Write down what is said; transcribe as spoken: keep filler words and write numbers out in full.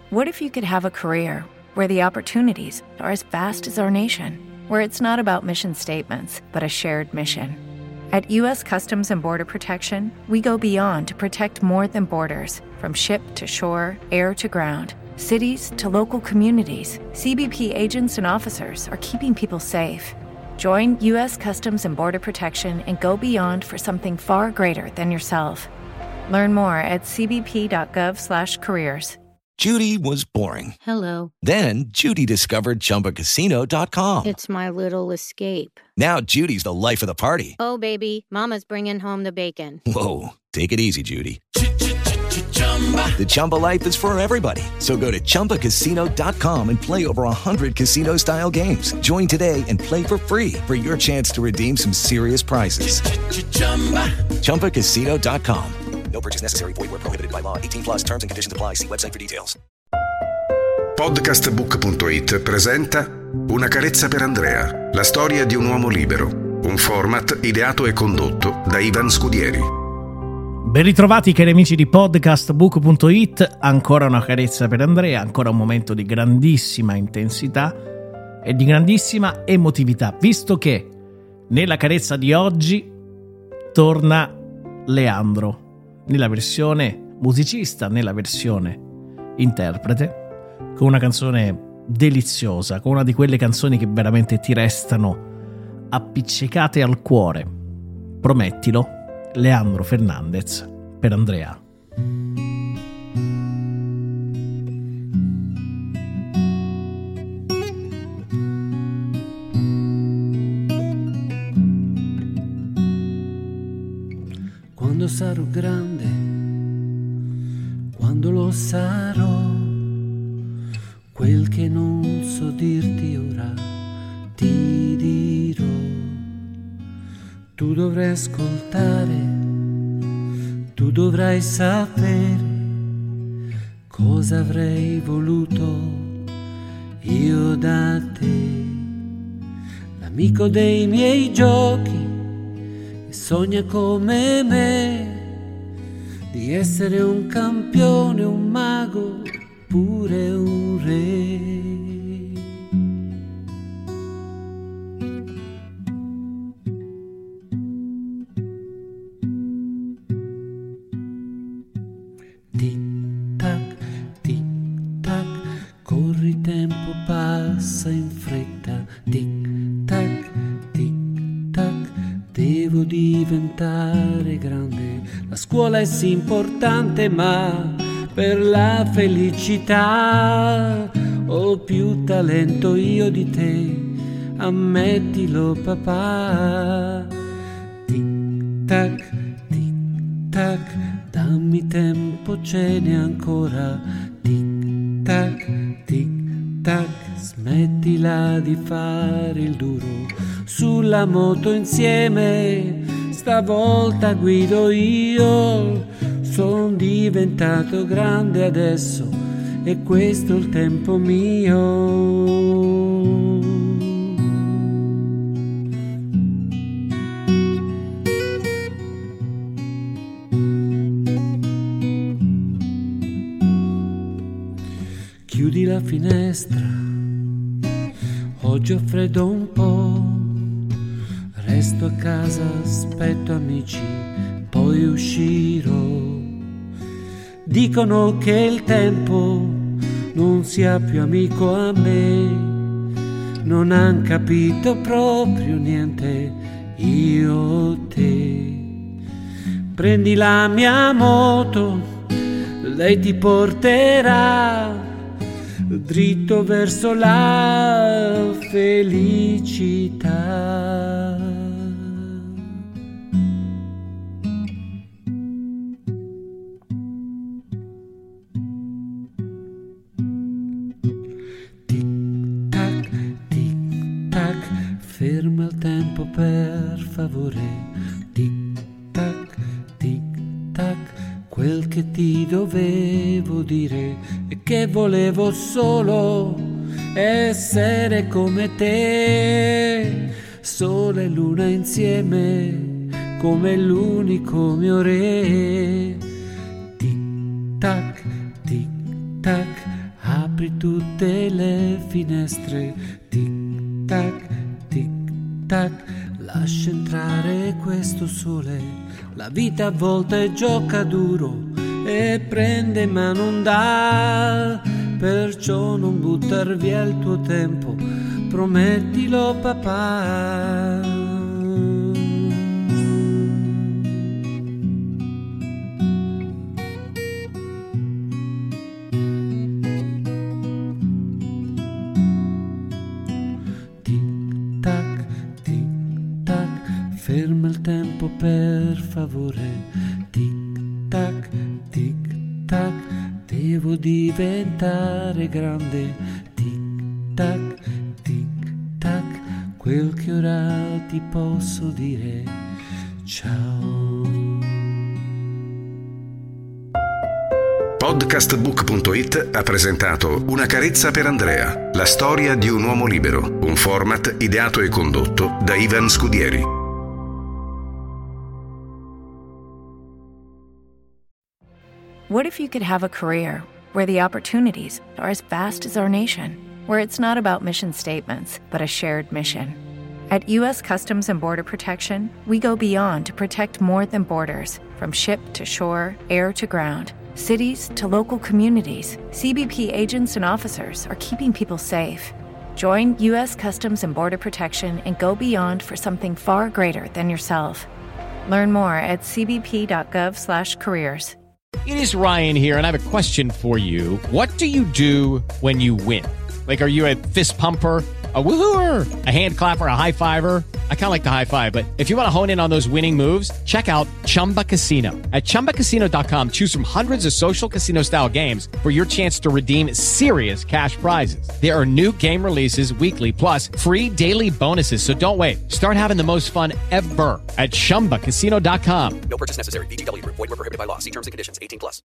What if you could have a career where the opportunities are as vast as our nation, where it's not about mission statements, but a shared mission? At U S Customs and Border Protection, we go beyond to protect more than borders. From ship to shore, air to ground, cities to local communities, C B P agents and officers are keeping people safe. Join U S Customs and Border Protection and go beyond for something far greater than yourself. Learn more at c b p dot gov slash careers. Judy was boring. Hello. Then Judy discovered Chumba Casino dot com. It's my little escape. Now Judy's the life of the party. Oh, baby, mama's bringing home the bacon. Whoa, take it easy, Judy. The Chumba life is for everybody. So go to chumba casino dot com and play over one hundred casino-style games. Join today and play for free for your chance to redeem some serious prizes. chumba casino dot com. No purchase necessary. Void where prohibited by law. eighteen plus terms and conditions apply. See website for details. Podcastbook punto it presenta Una carezza per Andrea, la storia di un uomo libero, un format ideato e condotto da Ivan Scudieri. Ben ritrovati cari amici di podcastbook punto it, ancora una carezza per Andrea, ancora un momento di grandissima intensità e di grandissima emotività, visto che nella carezza di oggi torna Leandro, nella versione musicista, nella versione interprete, con una canzone deliziosa, con una di quelle canzoni che veramente ti restano appiccicate al cuore. Promettilo, Leandro Fernandez per Andrea. Quando sarò grande, quando lo sarò, quel che non so dirti ora ti dirò. Tu dovrai ascoltare, tu dovrai sapere cosa avrei voluto io da te. L'amico dei miei giochi e sogna come me di essere un campione, un mago, pure un re. Tic-tac, tic-tac, corri, tempo passa in fretta. Tic-tac, tic-tac, devo diventare grande. La scuola è sì importante, ma per la felicità ho più talento io di te, ammettilo papà. Tic-tac, tic-tac, dammi tempo, ce n'è ancora. Tic-tac, tic-tac, smettila di fare il duro. Sulla moto insieme, stavolta guido io. Son diventato grande adesso e questo è il tempo mio. Chiudi la finestra, oggi ho freddo un po'. Resto a casa, aspetto amici, poi uscirò. Dicono che il tempo non sia più amico a me, non han capito proprio niente io te. Prendi la mia moto, lei ti porterà dritto verso la felicità. Ferma il tempo per favore. Tic-tac, tic-tac, quel che ti dovevo dire e che volevo solo essere come te. Sole e luna insieme come l'unico mio re. Tic-tac, tic-tac, Apri tutte le finestre, tic tac, tic tac, lascia entrare questo sole. La vita a volte gioca duro e prende ma non dà, perciò non buttar via il tuo tempo, promettilo papà. Ferma il tempo per favore, tic tac, tic tac, devo diventare grande, tic tac, tic tac, quel che ora ti posso dire, ciao. Podcastbook punto it ha presentato Una carezza per Andrea, la storia di un uomo libero, un format ideato e condotto da Ivan Scudieri. What if you could have a career where the opportunities are as vast as our nation, where it's not about mission statements, but a shared mission? At U S Customs and Border Protection, we go beyond to protect more than borders. From ship to shore, air to ground, cities to local communities, C B P agents and officers are keeping people safe. Join U S Customs and Border Protection and go beyond for something far greater than yourself. Learn more at c b p dot gov slash careers. It is Ryan here, and I have a question for you. What do you do when you win? Like, are you a fist pumper, a woohooer, a hand clapper, a high fiver? I kind of like the high five, but if you want to hone in on those winning moves, check out Chumba Casino. At chumba casino dot com, choose from hundreds of social casino-style games for your chance to redeem serious cash prizes. There are new game releases weekly, plus free daily bonuses. So don't wait. Start having the most fun ever at chumba casino dot com. No purchase necessary. V G W Group. Void where prohibited by law. See terms and conditions. eighteen plus.